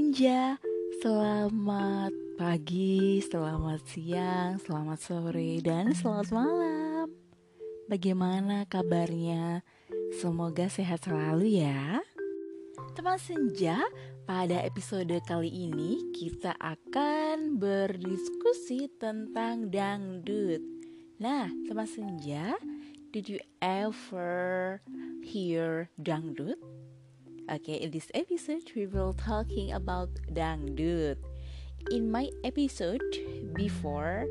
senja, selamat pagi, selamat siang, selamat sore, dan selamat malam. Bagaimana kabarnya? Semoga sehat selalu ya. Teman senja, pada episode kali ini kita akan berdiskusi tentang dangdut. Nah, teman senja, did you ever hear dangdut? Okay, in this episode we will talking about dangdut. In my episode before,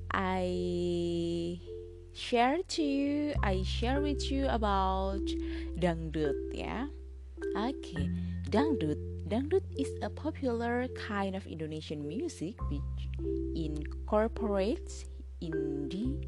I share with you about dangdut ya. Okay, dangdut is a popular kind of Indonesian music which incorporates Hindi,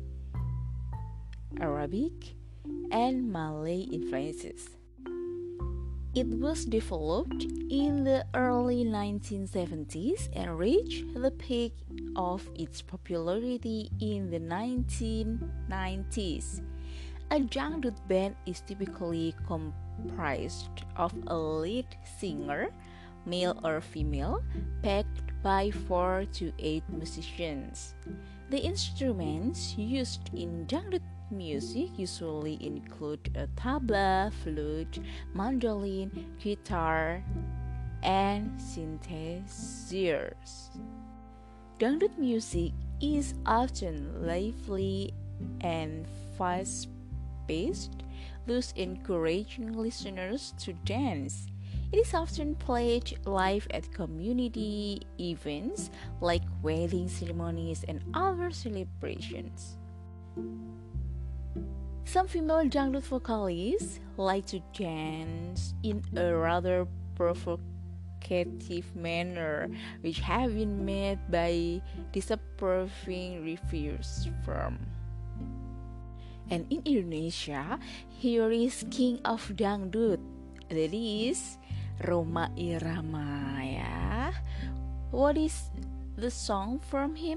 Arabic, and Malay influences. It was developed in the early 1970s and reached the peak of its popularity in the 1990s. A dangdut band is typically comprised of a lead singer, male or female, backed by 4 to 8 musicians. The instruments used in dangdut music usually include a tabla, flute, mandolin, guitar, and synthesizers. Dangdut music is often lively and fast-paced, thus encouraging listeners to dance. It is often played live at community events like wedding ceremonies and other celebrations. Some female dangdut vocalists like to dance in a rather provocative manner, which have been met by disapproving reviews from. And in Indonesia, here is King of Dangdut, that is Rhoma Irama ya. What is the song from him?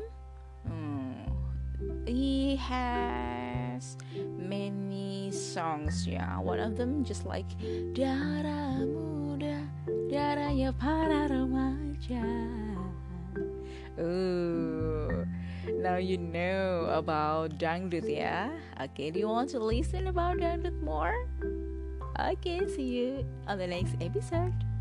He has many songs ya. One of them just like Darah Muda, Darahnya para remaja. Now you know about dangdut ya. Okay, do you want to listen about dangdut more? Okay, see you on the next episode.